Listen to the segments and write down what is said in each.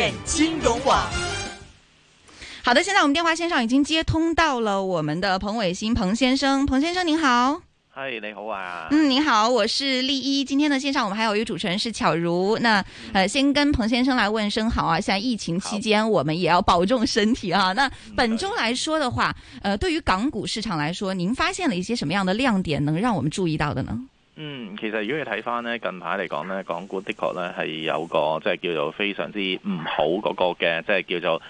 线金融网。 好的，现在我们电话线上已经接通到了我们的彭伟新彭先生。彭先生您好。 嗨，你好啊。 您好，我是丽一。今天的线上我们还有一个主持人是巧如。那先跟彭先生来问声好啊。现在疫情期间我们也要保重身体啊。那本周来说的话，对于港股市场来说，您发现了一些什么样的亮點能讓我們注意到的呢？ 其實如果你睇翻呢近排嚟講呢，港股的確呢係有個即係叫做非常之唔好嗰個嘅，即係叫做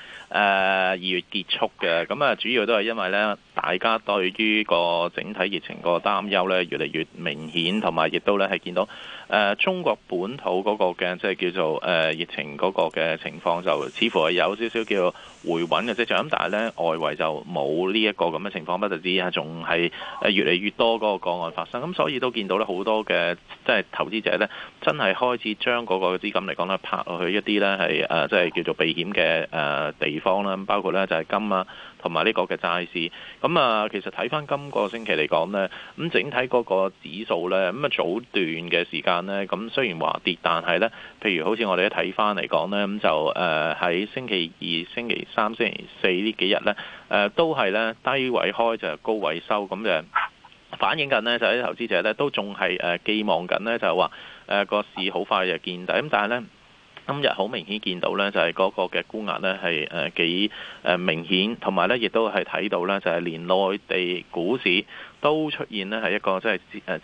2月結束嘅。咁啊，主要都係因為呢，大家對於個整體疫情個擔憂呢越嚟越明顯，同埋亦都呢係見到中國本土嗰個嘅即係叫做疫情嗰個嘅情況就似乎係有少少叫回穩嘅跡象。咁但係呢，外圍就冇呢一個咁嘅情況，不特止係仲係越嚟越多嗰個個案發生。咁所以都見到呢好多嘅即係投資者呢，真係開始將嗰個資金嚟講呢，拍落去一啲呢係即係叫做避險嘅地方啦，包括呢就係金啊，同埋呢個嘅債市。咁啊，其實睇翻今個星期嚟講呢，咁整體嗰個指數呢，咁啊早段嘅時間呢，咁雖然話跌，但係呢，譬如好似我哋一睇翻嚟講呢，咁就喺星期二、星期三、星期四呢幾日呢，都係呢低位開就係高位收，咁就反映緊呢，就係啲投資者呢都仲係寄望緊呢，就係話個市好快就見底。咁但係呢，今日好明顯見到呢，就係嗰個嘅沽壓呢係幾明顯，同埋呢亦都係睇到呢，就係連內地股市都出現呢係一個即係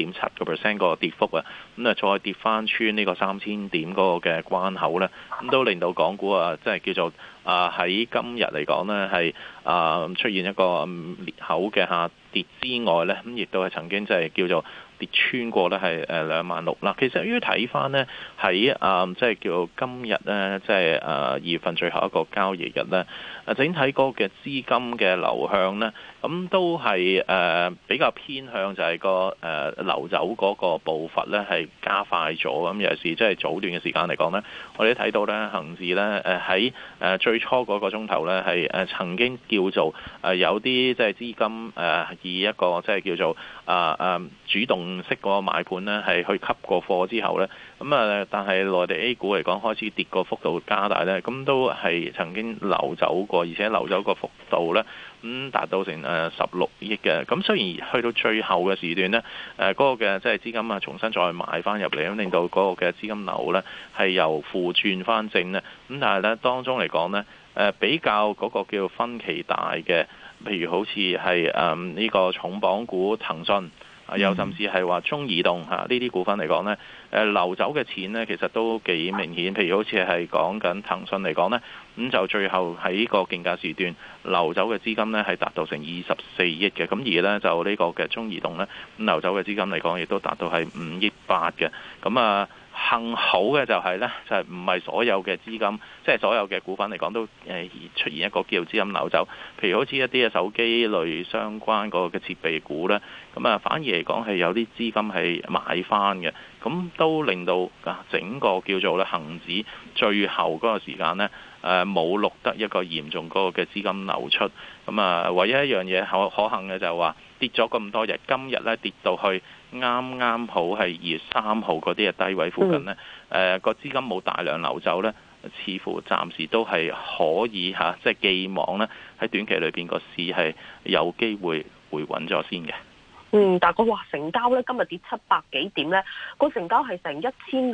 3.7% 個跌幅啊！咁啊再跌翻穿呢個3000點嗰個嘅關口呢，咁都令到港股啊即係叫做喺今日嚟講呢係出現一個裂口嘅下跌之外呢，咁亦都係曾經即係叫做跌穿過呢係26000啦。其實要睇翻呢，喺即係叫今日呢，即係2月份最後一個交易日呢，整體嗰個嘅資金嘅流向呢，咁都係比較偏向就係個流走嗰個步伐呢係加快咗。咁尤其是即係早段嘅時間嚟講呢，我哋都睇到呢恆指呢喺最初嗰個鐘頭呢係曾經叫做有啲即係資金以一個即係叫做主動式嗰個買盤呢係去吸過貨之後呢，咁但係內地 A 股嚟講開始跌個幅度加大呢，咁都係曾經流走過，而且流走個幅度呢咁達到成16億嘅。咁雖然去到最後嘅時段呢，嗰個嘅即係資金重新再買翻入嚟，咁令到嗰個嘅資金流呢係由負轉翻正呢。咁但係呢，當中嚟講呢，比較嗰個叫分歧大嘅，譬如好似係呢個重磅股騰訊。又甚至係話中移動呢啲股份嚟講呢，流走嘅錢呢其實都幾明顯。譬如好似係講緊騰訊嚟講呢，咁就最後喺個競價時段流走嘅資金呢係達到成24億嘅。咁而呢，就呢個嘅中移動呢，咁流走嘅資金嚟講亦都達到係5億8嘅。咁幸好嘅就係呢，就係唔係所有嘅資金，即係所有嘅股份嚟講都出現一個叫資金流走。譬如好似一啲嘅手機類相關嗰個嘅設備股呢，咁反而嚟講係有啲資金係買翻嘅，咁都令到整個叫做咧恆指最後嗰個時間呢，冇錄得一個嚴重嗰個嘅資金流出。咁唯一一樣嘢可幸嘅就係話跌咗咁多日，今日呢跌到去啱啱好係2月3號嗰啲嘅低位附近呢，個資金冇大量流走呢，似乎暫時都係可以即係寄望呢喺短期裏邊個市係有機會回穩咗先嘅。 但係成交咧今日跌700幾點咧，個成交係成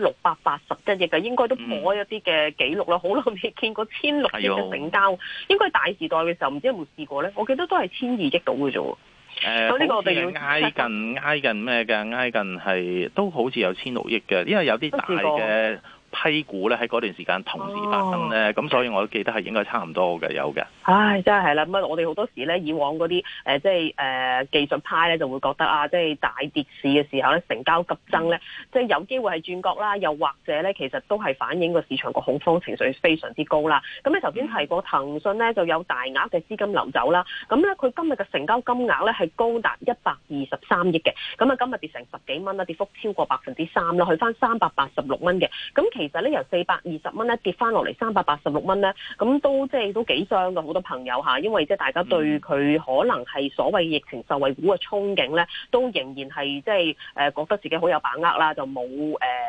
1681億嘅，應該都破一啲嘅紀錄啦。好耐未見過1600億嘅成交，應該大時代嘅時候唔知有冇試過咧？我記得都係1200億到嘅啫。 咁呢個我哋要挨近咩嘅？挨近係都好似有1600億嘅，因為有啲大嘅批股咧喺嗰段時間同時發生咧，咁所以我都記得係應該差唔多嘅，有嘅。 真係啦，咁我哋好多時咧，以往嗰啲即係技術派咧就會覺得即係大跌市嘅時候咧，成交急增咧，即係有機會係轉角啦，又或者咧，其實都係反映個市場個恐慌情緒非常之高啦。咁你頭先提過騰訊咧就有大額嘅資金流走啦，咁咧佢今日嘅成交金額咧係高達123億嘅，咁今日跌成10幾蚊啦，跌幅超過3%啦，去翻386蚊嘅。咁其實咧由420蚊咧跌翻落嚟386蚊咧，咁都即係都幾傷嘅。好多朋友因為即係大家對佢可能係所謂疫情受惠股嘅憧憬咧，都仍然係即係覺得自己好有把握啦，就冇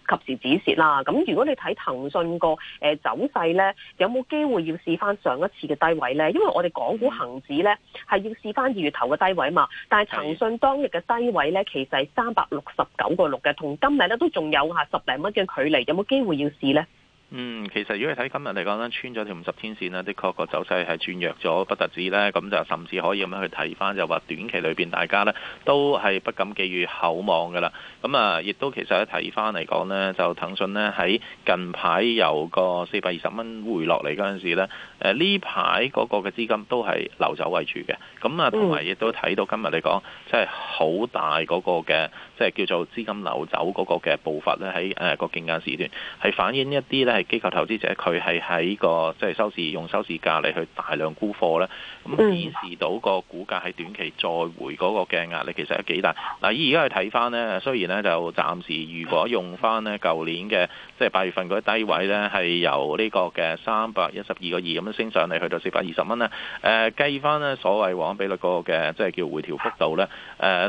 及時止蝕啦。咁如果你睇騰訊個走勢咧，有冇機會要試翻上一次嘅低位咧？因為我哋港股恒指咧係要試翻2月頭嘅低位嘛，但係騰訊當日嘅低位咧其實係369.6嘅，同今日咧都仲有10零蚊嘅距離，有冇機會要試咧？ 其實如果你睇今日嚟講咧，穿咗條50天線呢，的確個走勢係轉弱咗，不特止呢，咁就甚至可以咁樣去睇翻，就話短期裏邊大家呢都係不敢寄予厚望㗎啦。咁啊，亦都其實一睇翻嚟講呢，就騰訊呢喺近排由個420蚊回落嚟嗰陣時呢，呢排嗰個嘅資金都係流走為主嘅。咁啊，同埋亦都睇到今日嚟講，即係好大嗰個嘅，即係叫做資金流走嗰個嘅步伐呢，喺個競價時段係反映一啲呢。係機構投資者佢係喺個即係用收市價嚟去大量沽貨咧，咁顯示到個股價喺短期再回嗰個嘅壓力其實係幾大。嗱，而家去睇翻呢，雖然呢就暫時如果用翻呢舊年嘅即係8月份嗰啲低位呢，係由呢個嘅312.2咁樣升上嚟去到420蚊呢，計翻呢所謂黃金比率嗰個嘅即係叫回調幅度呢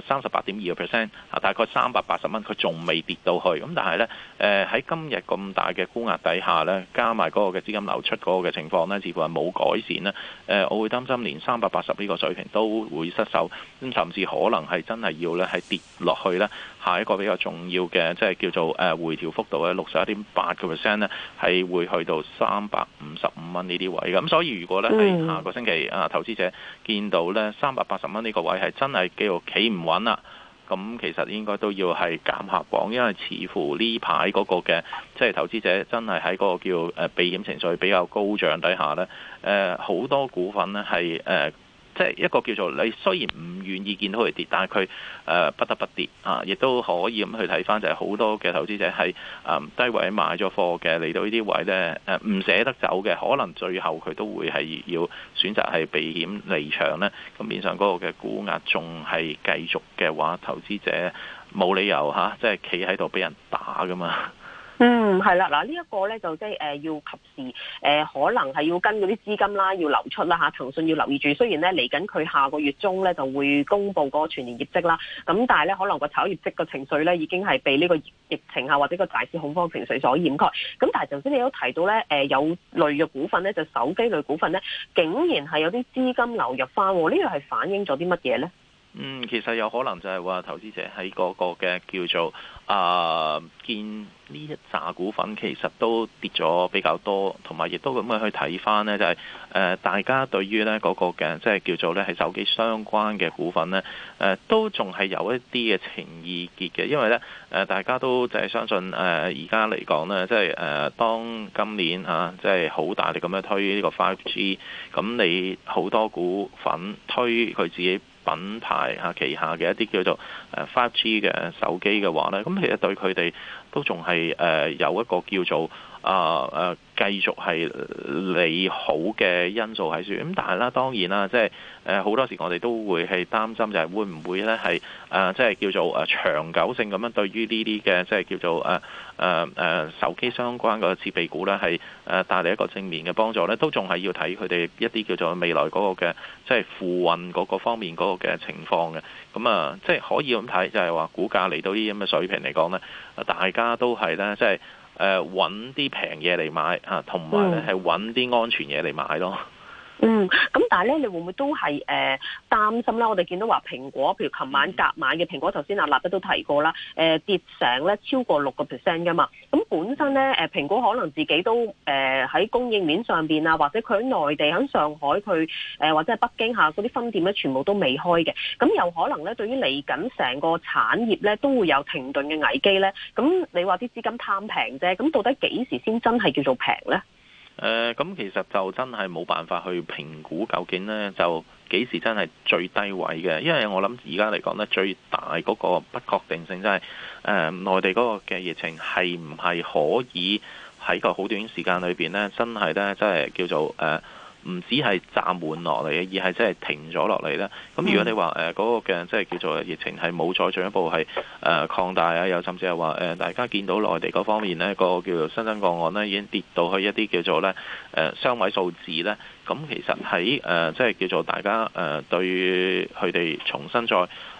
，38.2%，大概380蚊，佢仲未跌到去。咁但係呢，喺今日咁大嘅沽壓底下呢，加埋嗰個嘅資金流出嗰個嘅情況呢，似乎係冇改善呢。我會擔心連380呢個水平都會失守，咁甚至可能係真係要呢係跌落去呢。下一個比較重要嘅即係叫做回調幅度咧61.8%呢，係會去到355蚊呢啲位。咁所以如果呢喺下個星期投資者見到呢380蚊呢個位係真係叫做企唔穩啦，咁其實應該都要係減下磅，因為似乎呢排嗰個嘅即係投資者真係喺嗰個叫避險情緒比較高漲底下呢，好多股份呢係即係一個叫做你雖然唔願意見到佢跌，但係佢不得不跌啊！亦都可以咁去睇翻，就係好多嘅投資者係低位買咗貨嘅，嚟到呢啲位呢，唔捨得走嘅，可能最後佢都會係要選擇係避險離場呢。咁面上嗰個嘅股壓仲係繼續嘅話，投資者冇理由即係企喺度俾人打噶嘛。 係啦，嗱呢一個咧就即係要及時可能係要跟嗰啲資金啦，要流出啦嚇。騰訊要留意住，雖然咧嚟緊佢下個月中咧就會公布嗰個全年業績啦，咁但係咧可能個炒業績嘅情緒咧已經係被呢個疫情或者個大市恐慌情緒所掩蓋。咁但係頭先你都提到咧有類嘅股份咧，就手機類股份咧，竟然係有啲資金流入翻，呢個係反映咗啲乜嘢咧？ 其實有可能就係話投資者喺嗰個嘅叫做見呢一紮股份其實都跌咗比較多，同埋亦都咁樣去睇翻呢，就係大家對於呢嗰個嘅即係叫做呢係手機相關嘅股份呢，都仲係有一啲嘅情意結嘅，因為呢大家都就係相信而家嚟講呢，即係當今年即係好大力咁樣推呢個 5G， 咁你好多股份推佢自己品牌旗下嘅一啲叫做5G 嘅手機嘅話呢，咁其實對佢哋都仲係有一個叫做繼續係利好嘅因素喺處。咁但係啦，當然啦，即係好多時我哋都會係擔心就係會唔會呢係即係叫做長久性咁樣對於呢啲嘅即係叫做手機相關嘅設備股呢係帶嚟一個正面嘅幫助呢，都仲係要睇佢哋一啲叫做未來嗰個嘅即係付運嗰個方面嗰個嘅情況嘅。咁即係可以咁睇，就係話股價嚟到呢啲咁嘅水平嚟講呢，大家都係呢，即係揾啲平嘢嚟買同埋咧係揾啲安全嘢嚟買咯。 咁但係咧，你會唔會都係擔心啦？我哋見到話蘋果，譬如琴晚夾買嘅蘋果，頭先阿立德都提過啦，跌成咧超過6% 噶嘛。咁本身咧蘋果可能自己都喺供應鏈上邊或者佢喺內地喺上海佢或者係北京嗰啲分店咧，全部都未開嘅。咁有可能咧，對於嚟緊成個產業咧，都會有停頓嘅危機咧。咁你話啲資金貪平啫，咁到底幾時先真係叫做平咧？ 咁其實就真係冇辦法去評估究竟呢就幾時真係最低位嘅，因為我諗而家嚟講呢，最大嗰個不確定性真係內地嗰個嘅疫情係唔係可以喺個好短時間裏邊呢，真係呢，真係叫做唔止係暫緩落嚟嘅，而係真係停咗落嚟咧。咁如果你話嗰個嘅即係叫做疫情係冇再進一步係擴大啊，又甚至係話大家見到內地嗰方面呢個叫做新增個案呢已經跌到去一啲叫做呢雙位數字呢。咁其實喺即係叫做大家對佢哋重新再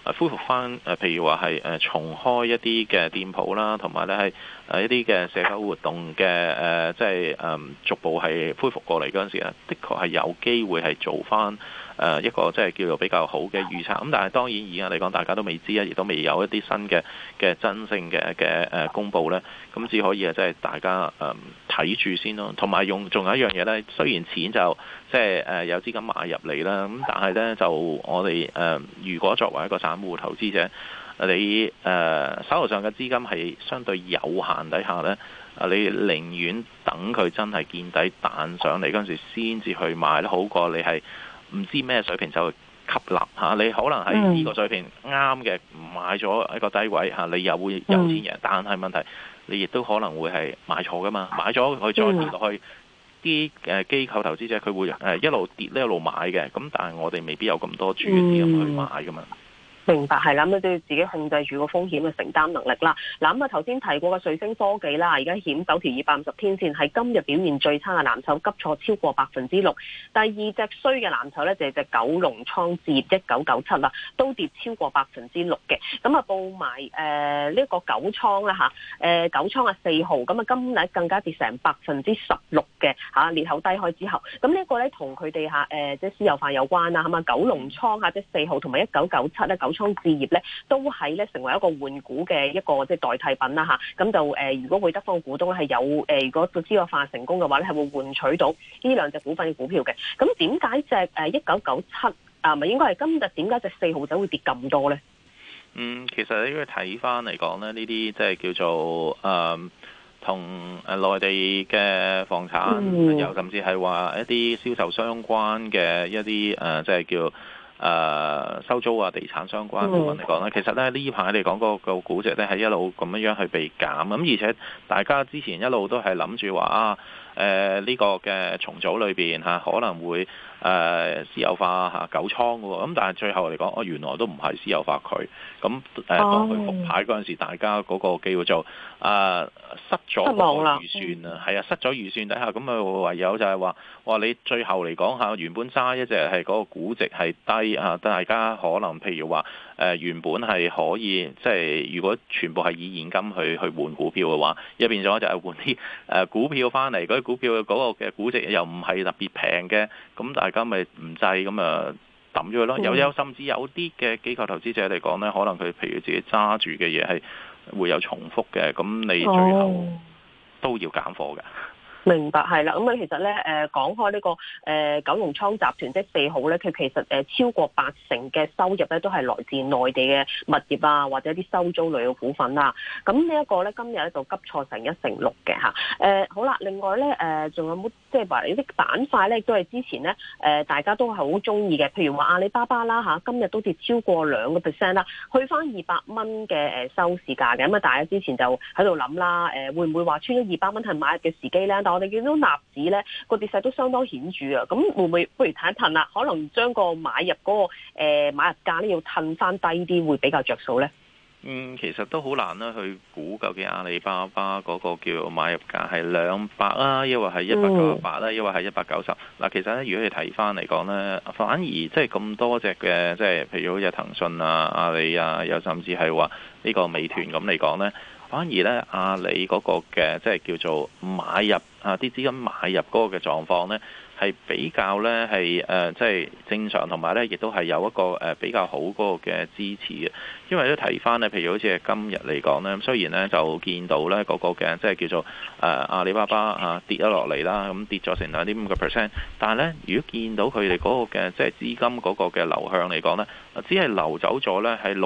恢復翻譬如話係重開一啲嘅店鋪啦，同埋咧係一啲嘅社交活動嘅即係逐步係恢復過嚟嗰陣時啊，的確係有機會係做翻一個即係叫做比較好嘅預測。咁但係當然而家嚟講，大家都未知啊，亦都未有一啲新嘅真正嘅公佈咧。咁只可以即係大家睇住先咯。同埋仲有一樣嘢咧，雖然錢就即係有資金買入嚟啦，咁但係咧就我哋如果作為一個散戶投資者，你手頭上嘅資金係相對有限底下呢，你寧願等佢真係見底彈上嚟嗰陣時先至去買咧，好過你係唔知咩水平就去吸納嚇。你可能係呢個水平啱嘅，買咗一個低位嚇，你又會有錢贏，但係問題你亦都可能會係買錯噶嘛，買咗佢再跌落去，啲機構投資者佢會一路跌一路買嘅，咁但係我哋未必有咁多主資金去買噶嘛。 明白，係啦，咁都要自己控制住個風險嘅承擔能力啦。嗱，咁啊頭先提過嘅瑞聲科技啦，而家險守條250天線，係今日表現最差嘅藍籌，急挫超過6%。第二隻衰嘅藍籌咧就係隻九龍倉置業1997啦，都跌超過6%嘅。咁啊報埋呢個九倉啦嚇，九倉啊4號，咁啊今日更加跌成16%嘅嚇，裂口低開之後，咁呢個咧同佢哋嚇即係私有化有關啦，係嘛？九龍倉嚇即係4號同埋1997咧九倉置業咧都係咧成為一個換股嘅一個即係代替品啦嚇，咁就如果會得方股東係有如果個私有化成功嘅話咧，係會換取到呢兩隻股份嘅股票嘅。咁點解隻1997咪應該係今日點解隻4號仔會跌咁多咧？ 其實你要睇翻嚟講咧，呢啲即係叫做同內地嘅房產，又甚至係話一啲銷售相關嘅一啲即係叫收租啊、地產相關部分嚟講咧，其實咧呢排嚟講個估值咧係一路咁樣去被減，咁而且大家之前一路都係諗住話呢個嘅重組裏邊可能會私有化九倉嘅喎，咁但係最後嚟講，原來都唔係私有化佢，咁當佢復牌嗰陣時，大家嗰個機會就失咗個預算啊，係啊，失咗預算底下，咁啊唯有就係話你最後嚟講原本揸一隻係嗰個估值係低啊，大家可能譬如話原本係可以即係如果全部係以現金去換股票嘅話，一變咗就係換啲股票翻嚟，嗰啲股票嗰個嘅估值又唔係特別平嘅，咁大家咪唔制咁啊抌咗佢咯。有甚至有啲嘅機構投資者嚟講呢，可能佢譬如自己揸住嘅嘢係會有重複嘅，咁你最後都要減貨嘅。 明白，係啦，咁啊其實咧講開呢個九龍倉集團即係4號咧，佢其實超過80%嘅收入咧都係來自內地嘅物業啊，或者啲收租類嘅股份啦。咁呢一個咧今日咧就急挫成1成6嘅嚇。好啦，另外咧仲有冇即係話呢啲板塊咧都係之前咧大家都係好中意嘅，譬如話阿里巴巴啦嚇，今日都跌超過2%啦，去翻200蚊嘅收市價嘅。咁啊大家之前就喺度諗啦，會唔會話穿咗200蚊係買入嘅時機咧？我哋見到納指咧個跌勢都相當顯著啊，咁會唔會不如褪一褪啦？可能將個買入嗰個買入價咧要褪翻低啲，會比較着數咧。 其實都好難啦，去估究竟阿里巴巴嗰個叫買入價係200啊，抑或係198啦，抑或係190。嗱，其實咧，如果你睇翻嚟講咧，反而即係咁多隻嘅，即係譬如好似騰訊啊、阿里啊，又甚至係話呢個美團咁嚟講咧。反而咧，阿里嗰個嘅即係叫做買入啲資金買入嗰個嘅狀況咧，係比較咧係即係正常，同埋咧亦都係有一個比較好嗰個嘅支持嘅。因為都睇翻咧，譬如好似係今日嚟講咧，雖然咧就見到咧嗰個嘅即係叫做阿里巴巴跌咗落嚟啦，咁跌咗成2.5%，但係咧如果見到佢哋嗰個嘅即係資金嗰個嘅流向嚟講咧，只係流走咗咧係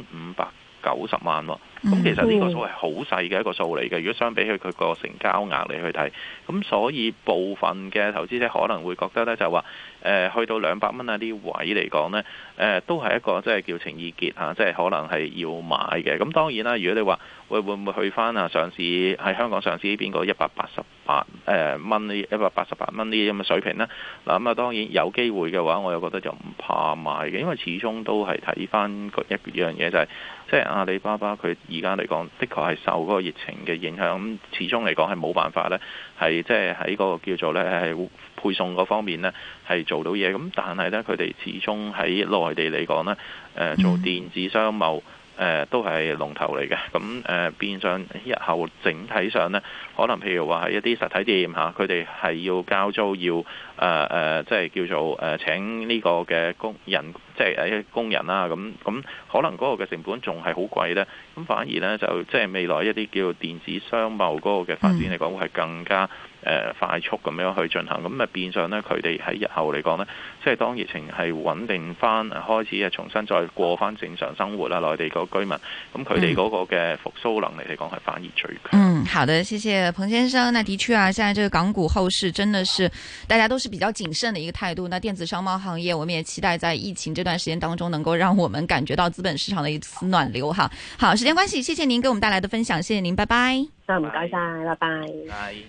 6590萬喎。咁其實呢個數係好細嘅一個數嚟嘅，如果相比佢個成交額嚟去睇，咁所以部分嘅投資者可能會覺得咧就話去到200蚊啊啲位嚟講咧，都係一個即係叫情意結嚇，即係可能係要買嘅。咁當然啦，如果你話會唔會去翻上市喺香港上市呢邊個188蚊呢188蚊呢啲咁嘅水平呢？嗱咁啊當然有機會嘅話，我又覺得就唔怕買嘅，因為始終都係睇翻一樣嘢就係即係阿里巴巴佢而家嚟講，的確係受嗰個疫情嘅影響，咁始終嚟講係冇辦法咧，係即係喺個叫做咧係配送嗰方面咧係做到嘢。咁但係咧，佢哋始終喺內地嚟講咧，做電子商務。都係龍頭嚟嘅，咁變相日後整體上呢，可能譬如話係一啲實體店嚇，佢哋係要交租，要即係叫做請呢個嘅工人，即係工人啦，咁可能嗰個嘅成本仲係好貴呢。咁反而呢，就即係未來一啲叫電子商務嗰個嘅發展嚟講，會係更加快速咁樣去進行，咁變相呢，佢哋喺日後嚟講呢，即係當疫情係穩定翻，開始重新再過翻正常生活啦，內地個居民，咁佢哋嗰個嘅復甦能力嚟講係反而最強。 好的，謝謝彭先生。那的確啊，現在這個港股後市真的是大家都是比較謹慎的一個態度。那電子商貿行業，我們也期待在疫情這段時間當中，能夠讓我們感覺到資本市場的一次暖流哈。好，時間關係，謝謝您給我們帶來的分享，謝謝您，拜拜。 唔該晒，拜拜。